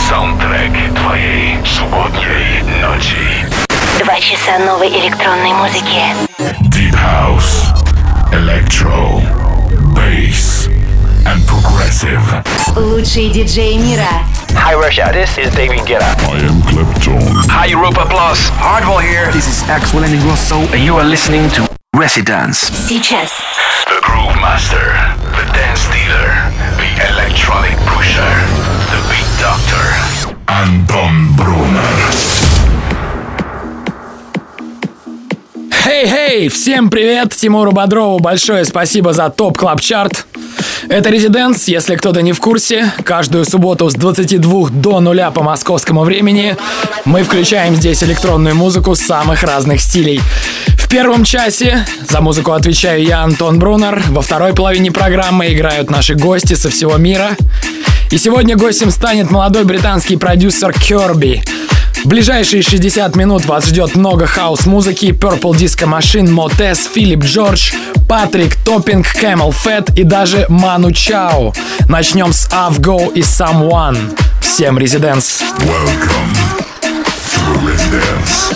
Саундтрек твоей субботней ночи. 2 часа новой электронной музыки. Deep House, Electro, Bass and Progressive. Лучшие диджеи мира. Hi Russia, this is David Guetta. I am Clapton. Hi Europa Plus. Hardwell here. This is Axel Ingrosso and you are listening to Residence. Сейчас. The Groove Master, the Dance Dealer, the Electronic Pusher, the Beat Doctor. Антон Брунер. Хей-хей! Всем привет! Тимуру Бодрову большое спасибо за ТОП Клаб Чарт. Это Residence, если кто-то не в курсе. Каждую субботу с 22 до 0 по московскому времени мы включаем здесь электронную музыку самых разных стилей. В первом часе за музыку отвечаю я, Антон Брунер. Во второй половине программы играют наши гости со всего мира. И сегодня гостем станет молодой британский продюсер Kirby. В ближайшие 60 минут вас ждет много хаус-музыки: Purple Disco Machine, Motes, Филипп Джордж, Патрик Топпинг, Camel Fat и даже Ману Чао. Начнем с Avgo и Someone. Всем Residence. Welcome to Residence.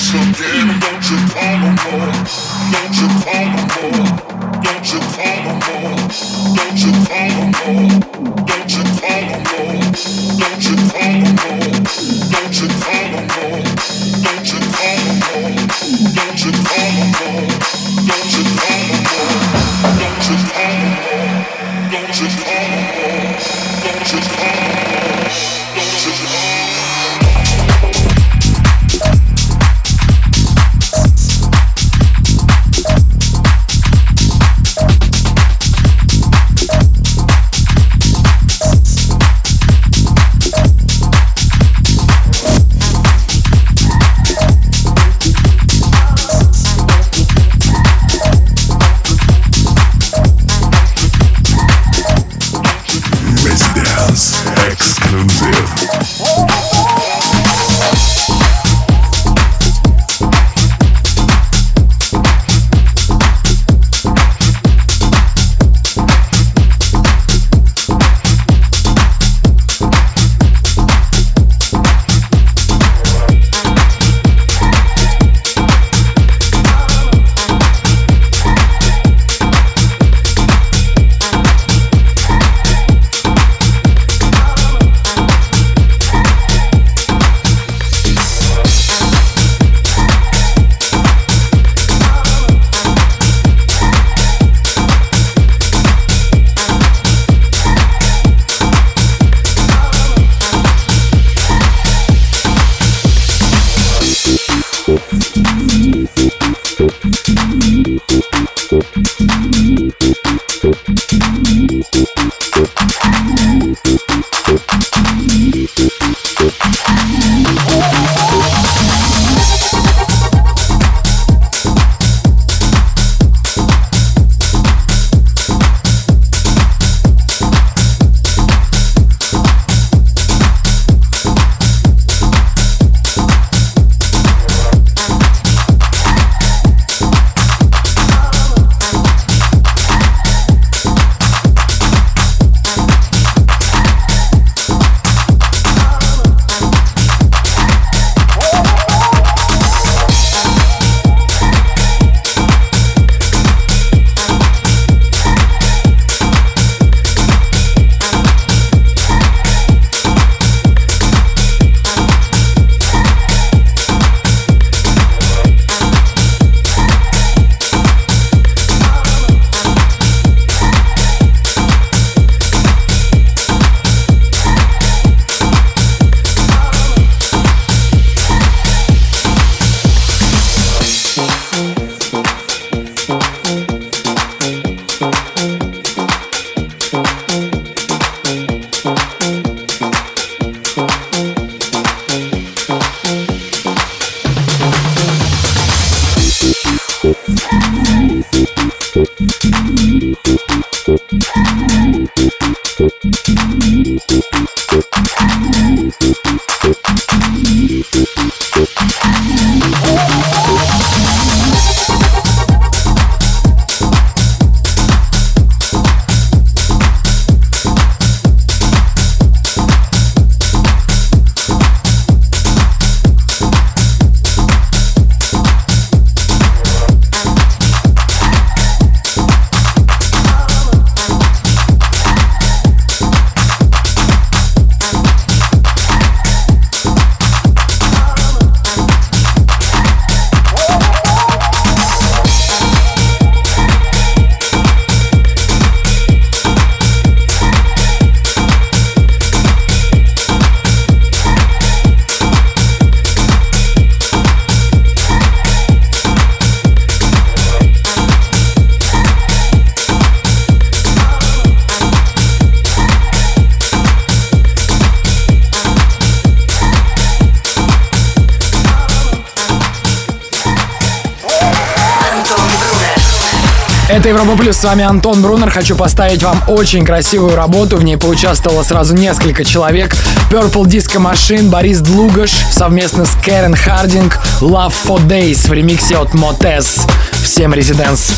Это Европа Плюс, с вами Антон Брунер. Хочу поставить вам очень красивую работу. В ней поучаствовало сразу несколько человек. Purple Disco Machine, Борис Длугаш совместно с Кэрен Хардинг. Love for Days в ремиксе от Мотез. Всем резиденс.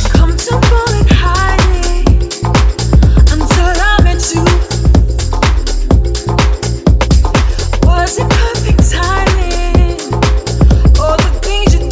Was it perfect timing? All the things you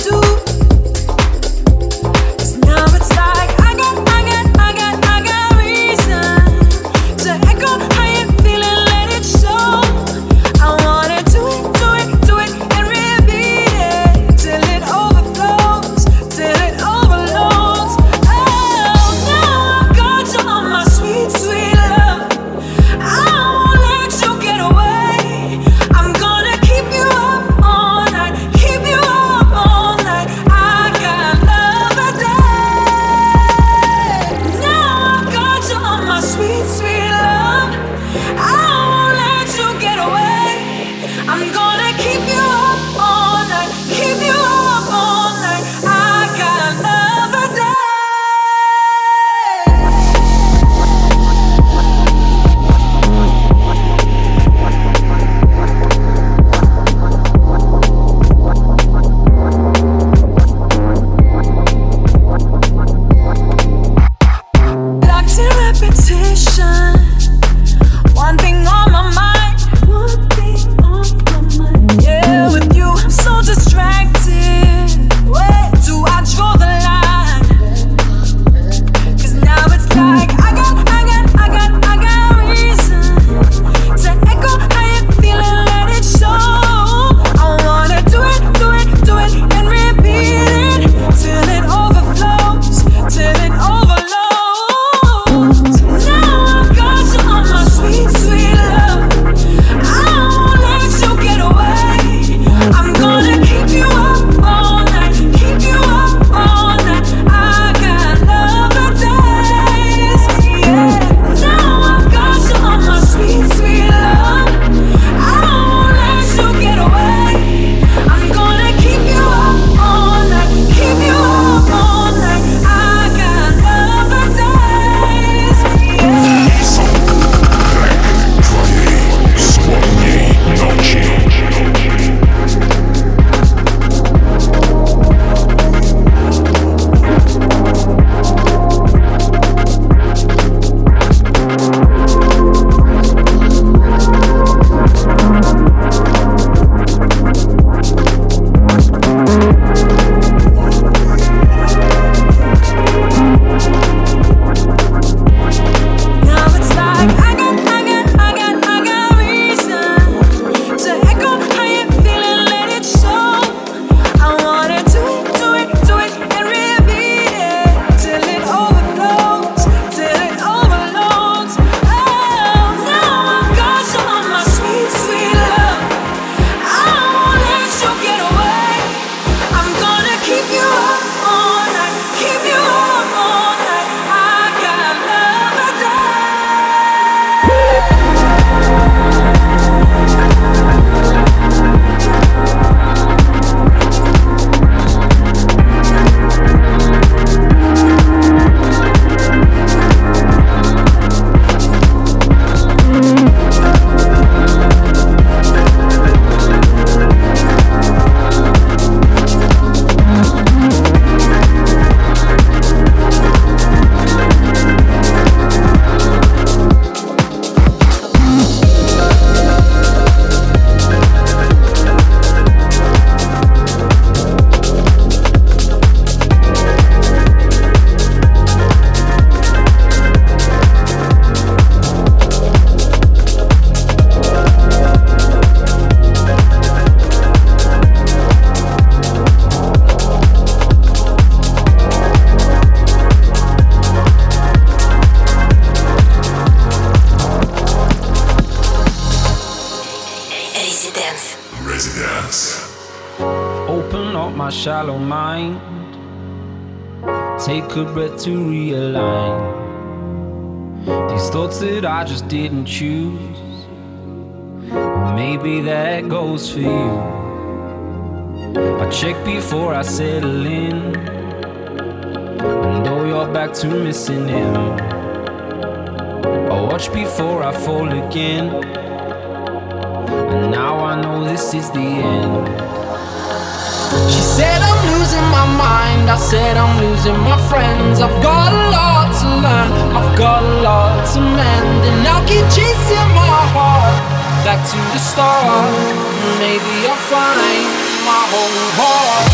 Residence. Open up my shallow mind. Take a breath to realign these thoughts that I just didn't choose. Well, maybe that goes for you. I check before I settle in. I know you're back to missing him. I watch before I fall again. And now I know this is the end. She said I'm losing my mind, I said I'm losing my friends. I've got a lot to learn, I've got a lot to mend. And I'll keep chasing my heart back to the start. Maybe I'll find my whole heart.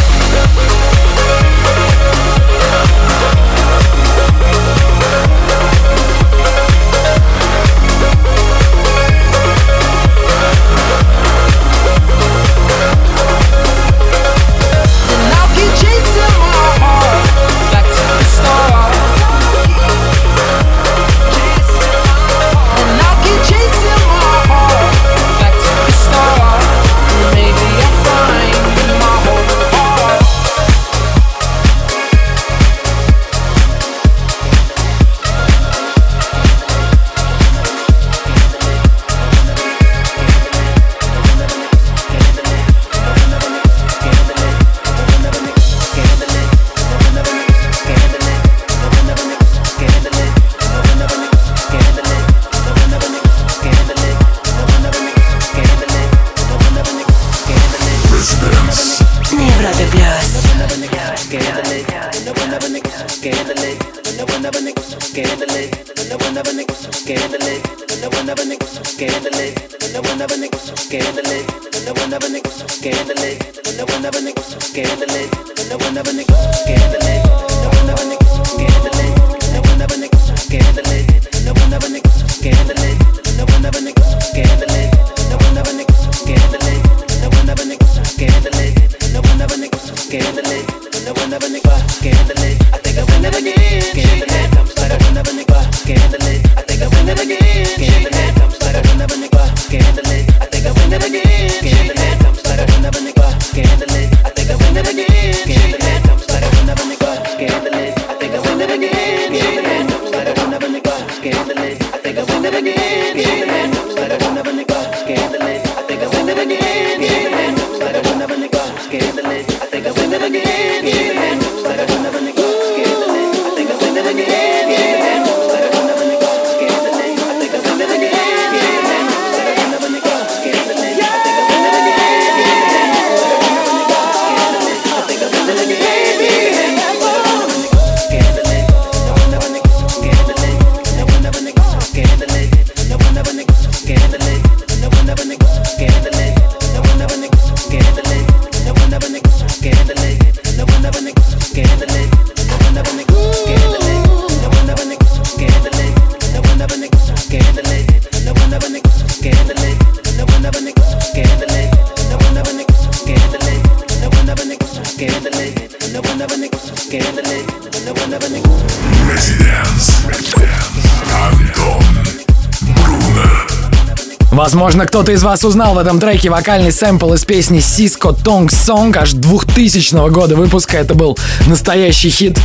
Возможно, кто-то из вас узнал в этом треке вокальный сэмпл из песни Cisco Tongue Song аж 2000 года выпуска. Это был настоящий хит.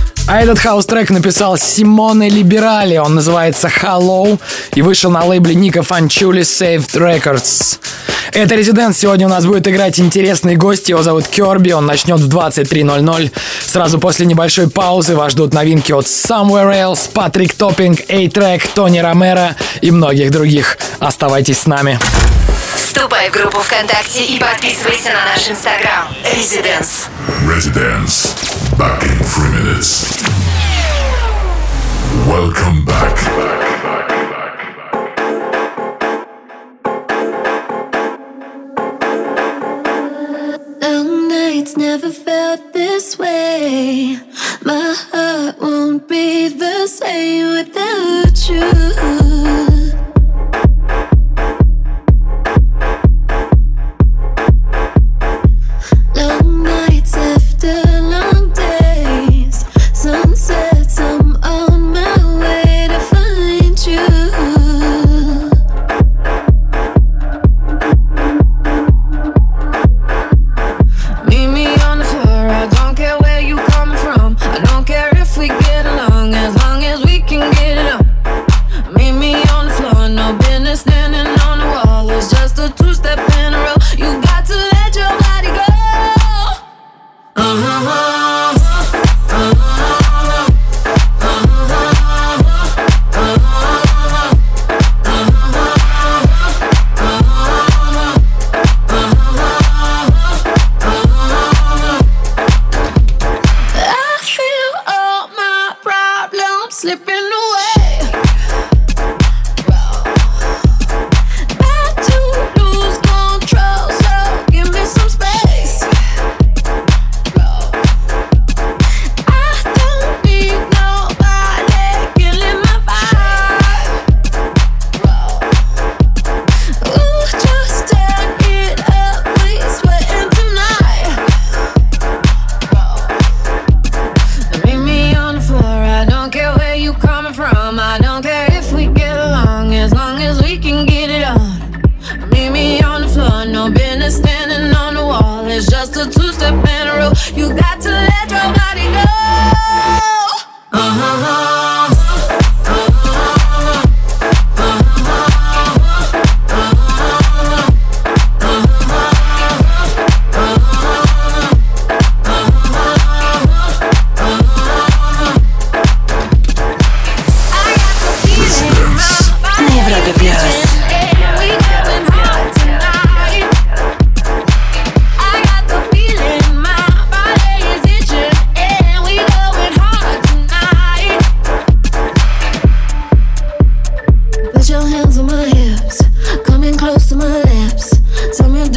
А этот хаус-трек написал Симоне Либерали. Он называется Hello и вышел на лейбле Ника Фанчули Saved Records. Это Резиденс. Сегодня у нас будет играть интересный гость. Его зовут Керби. Он начнет в 23:00. Сразу после небольшой паузы вас ждут новинки от Somewhere Else, Патрик Топпинг, A-Track, Тони Ромеро и многих других. Оставайтесь с нами. Вступай в группу ВКонтакте и подписывайся на наш Инстаграм. Резиденс. Residence. Back in 3 minutes. Welcome back. Long nights never felt this way. My heart won't be the same without you.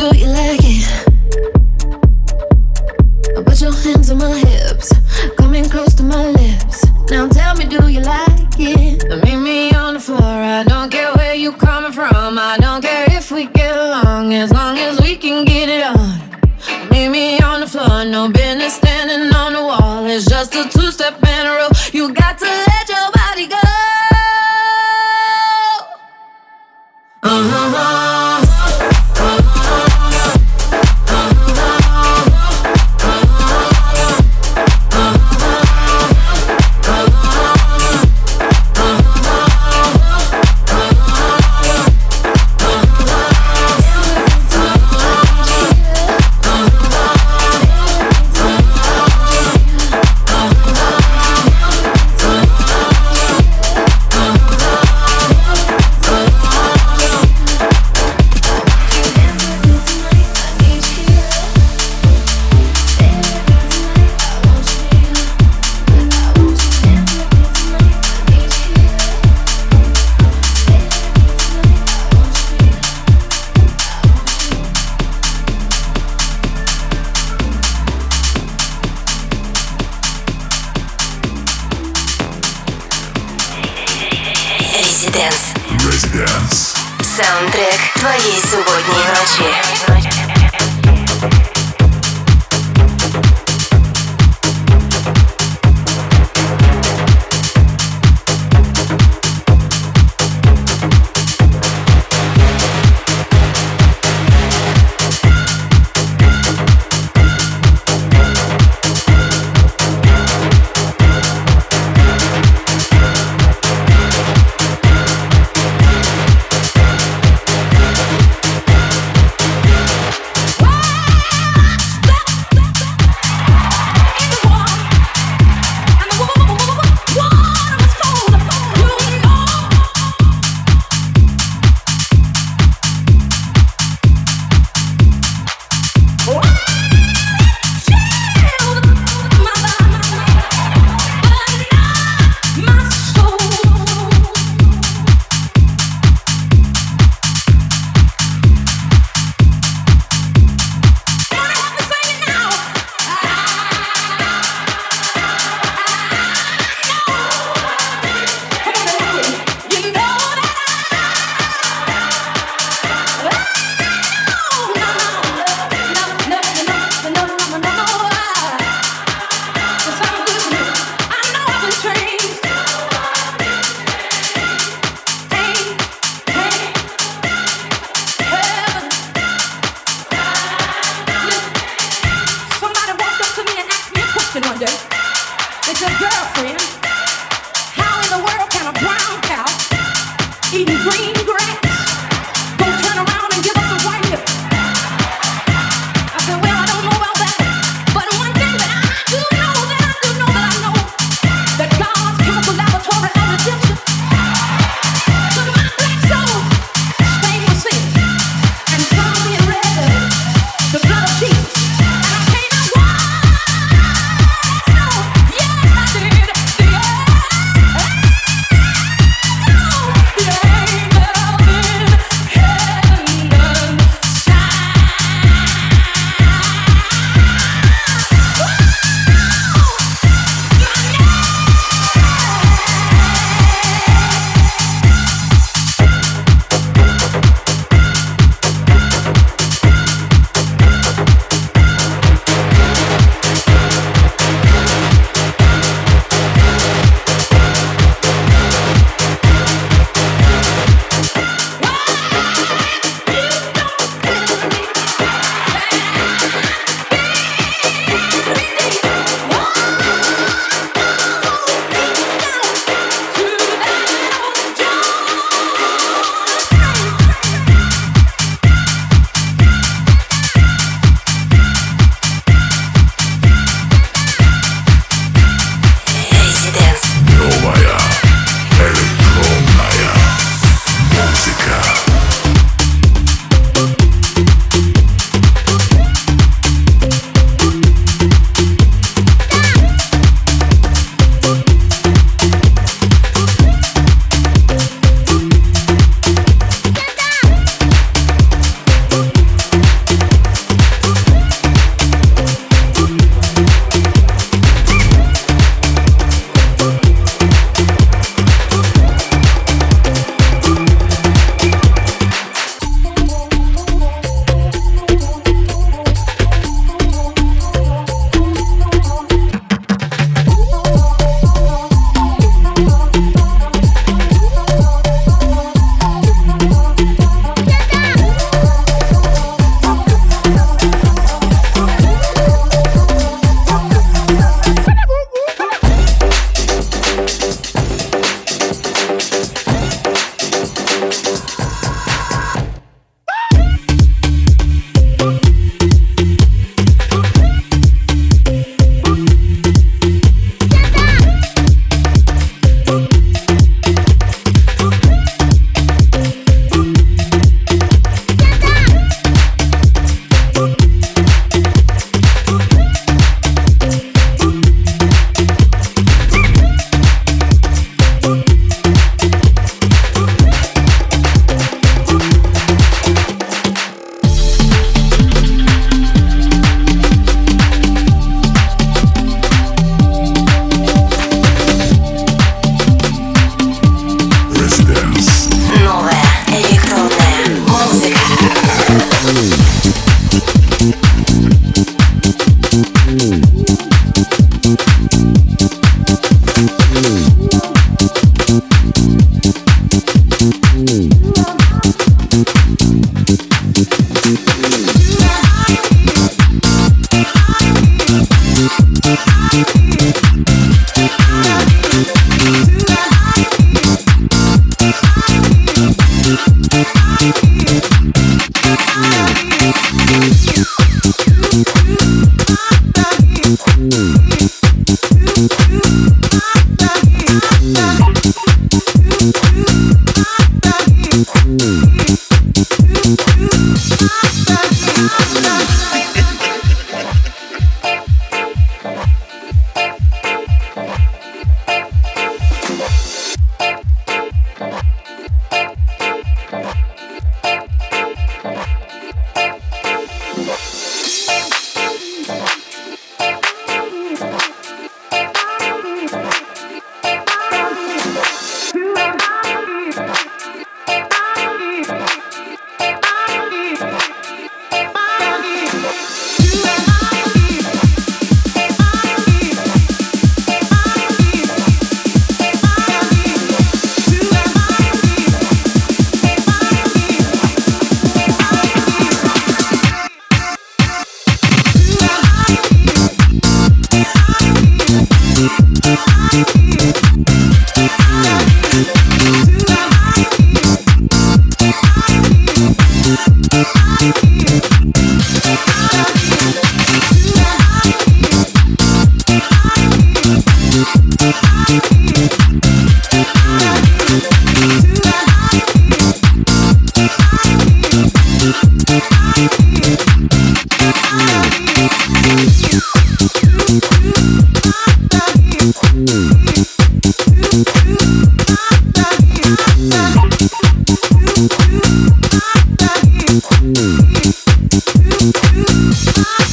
you like it? Put your hands on my hips, coming close to my lips. Now tell me, do you like it? Meet me on the floor, I don't care where you coming from. I don't care if we get along, as long as we can get it on. Meet me on the floor, no business standing on the wall. It's just a two-step and a roll. You got to let your body go. Residence. Саундтрек твоей субботней ночи.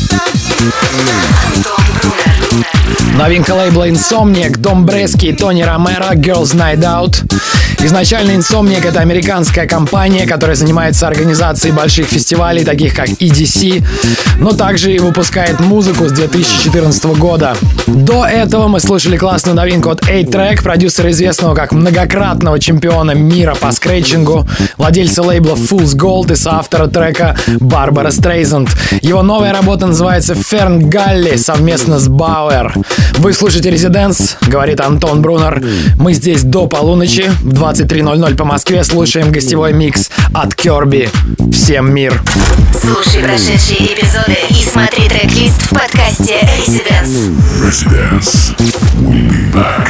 Новинка лейбла Insomniac, Дом Брески и Тони Ромеро, Girls Night Out. Изначально Insomniac — это американская компания, которая занимается организацией больших фестивалей, таких как EDC, но также и выпускает музыку с 2014 года. До этого мы слушали классную новинку от A-Track, продюсера, известного как многократного чемпиона мира по скретчингу, владельца лейбла Fool's Gold и соавтора трека Барбара Стрейзанд. Его новая работа называется Ферн Галли совместно с Бауэр. Вы слушаете Residence, говорит Антон Брунер. Мы здесь до полуночи, в 23:00 по Москве, слушаем гостевой микс от Kirby. Всем мир! Слушай прошедшие эпизоды и смотри трек-лист в подкасте Residence. Residence. We'll be back.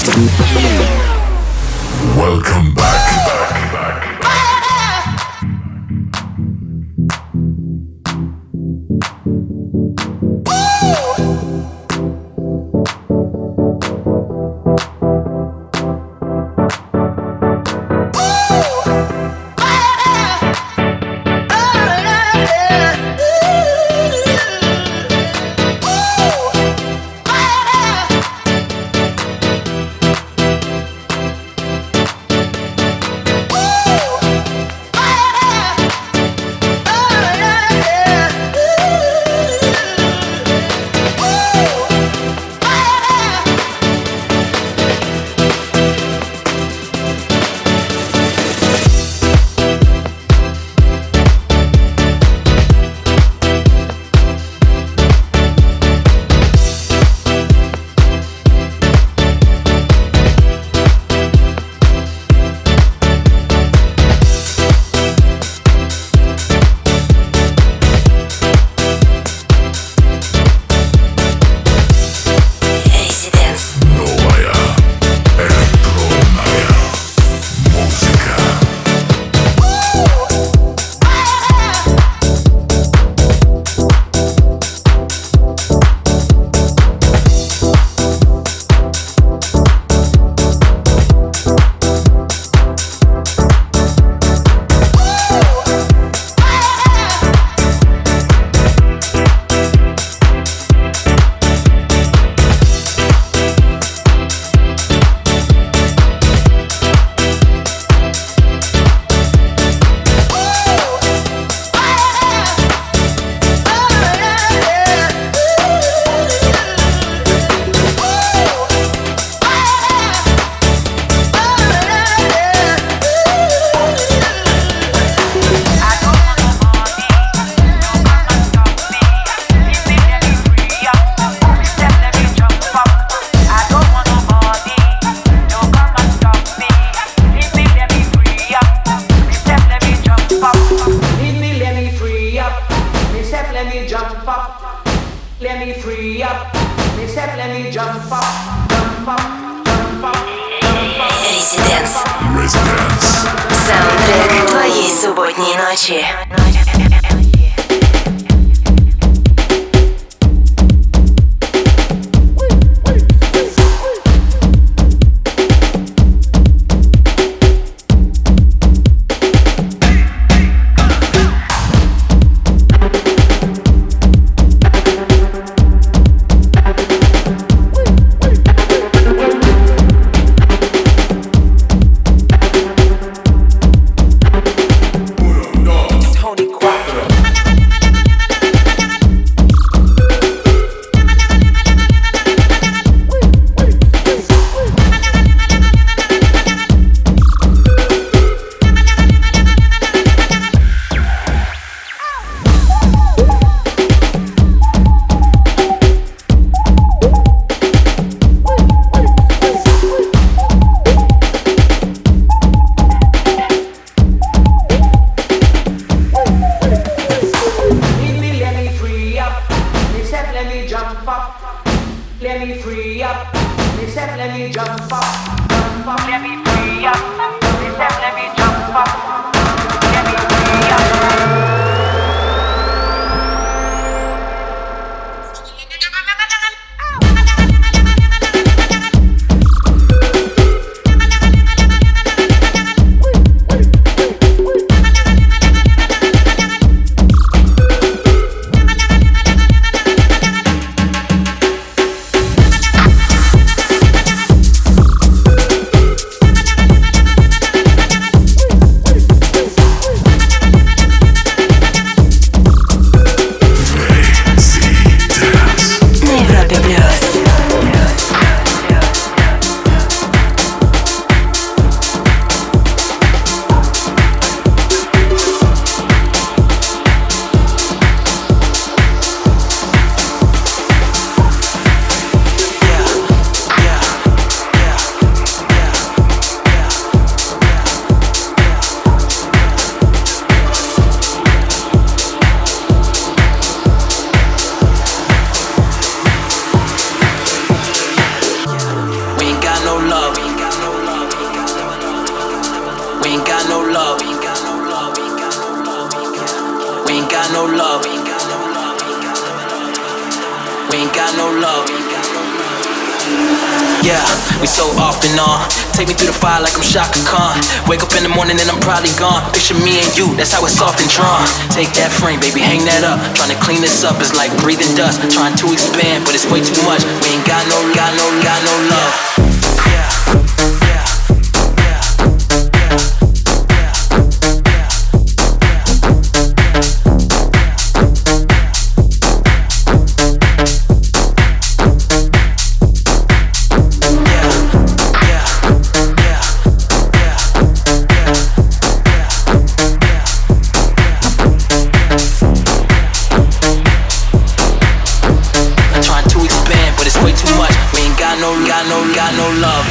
Welcome back. Саундтрек твоей субботней ночи. no love. We ain't got no love. Yeah, we so off and on. Take me through the fire like I'm Shaka Khan. Wake up in the morning and I'm probably gone. Picture me and you, that's how it's often drawn. Take that frame, baby, hang that up. Trying to clean this up is like breathing dust. Trying to expand, but it's way too much. We ain't got no love. Got no love.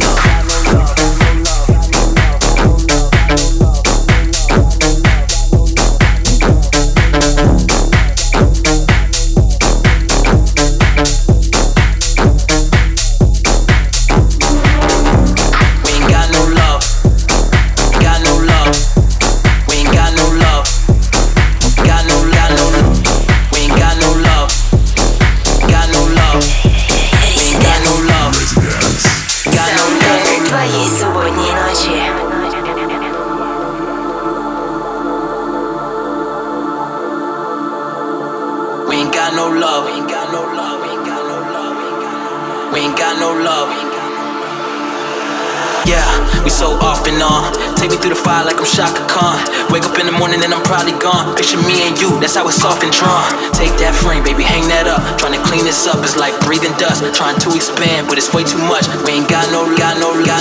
Take me through the fire like I'm Shaka Khan. Wake up in the morning and I'm probably gone. Picture me and you, that's how it's often drawn. Take that frame, baby, hang that up. Trying to clean this up is like breathing dust. Trying to expand, but it's way too much. We ain't got no love.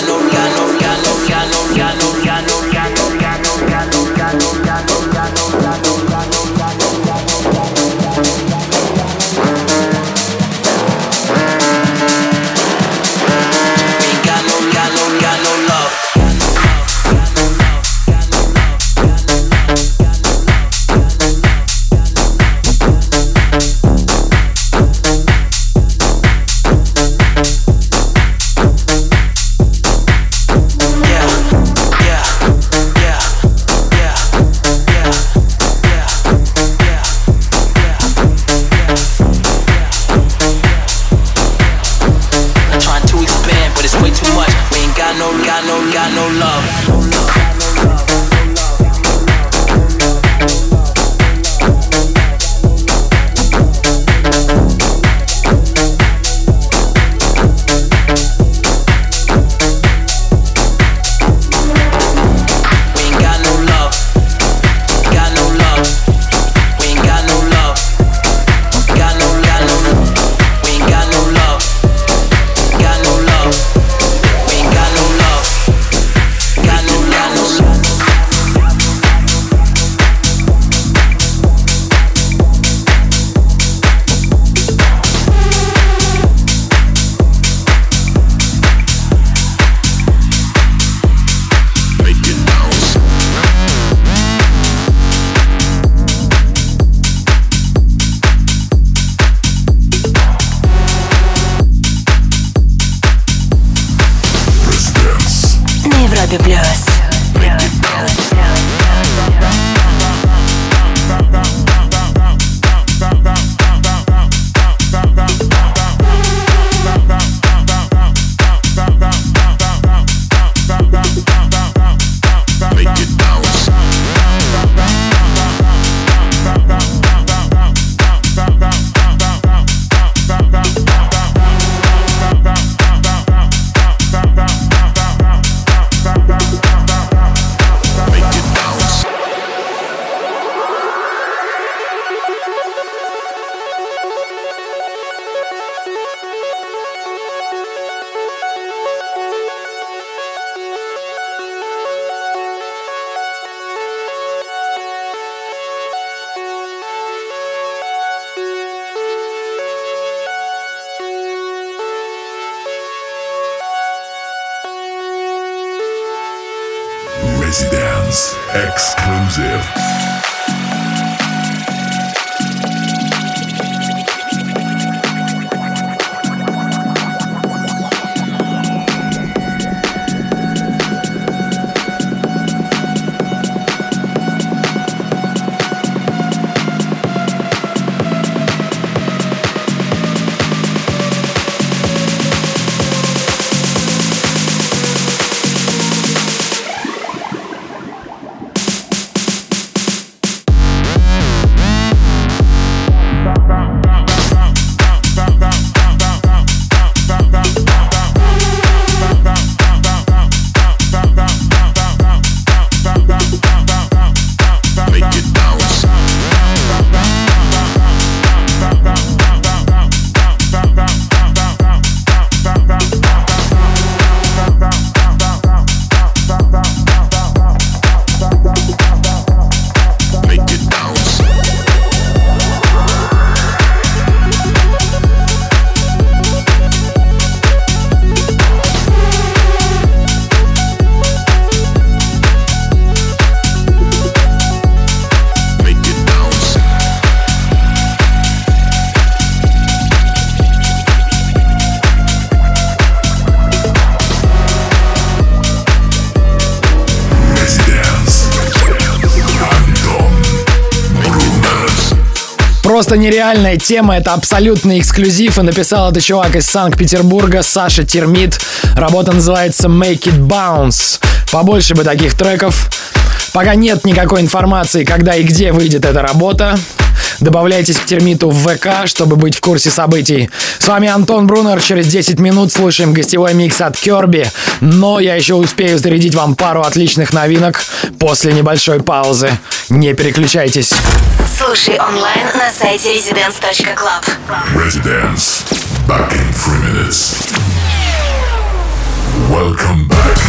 Residence Exclusive. просто нереальная тема, это абсолютный эксклюзив, и написал это чувак из Санкт-Петербурга, Саша Термит. Работа называется Make It Bounce. Побольше бы таких треков. Пока нет никакой информации, когда и где выйдет эта работа. Добавляйтесь к Термиту в ВК, чтобы быть в курсе событий. С вами Антон Брунер. Через 10 минут слушаем гостевой микс от Kirby. Но я еще успею зарядить вам пару отличных новинок после небольшой паузы. Не переключайтесь. Слушай онлайн на сайте residence.club. Residence. Back in 3 minutes. Welcome back.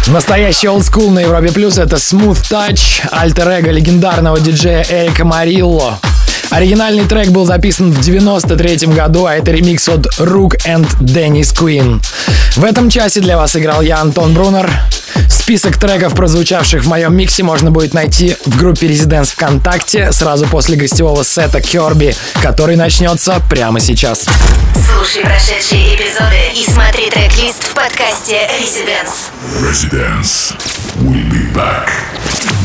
Настоящий олдскул на Европе Плюс — это Smooth Touch, альтер-эго легендарного диджея Эрика Марилло. Оригинальный трек был записан в 93 году, а это ремикс от Rook and Dennis Queen. В этом часе для вас играл я, Антон Брунер. Список треков, прозвучавших в моем миксе, можно будет найти в группе Residence ВКонтакте сразу после гостевого сета Kirby, который начнется прямо сейчас. Слушай прошедшие эпизоды и смотри трек-лист в подкасте Residence. Residence. We'll be back.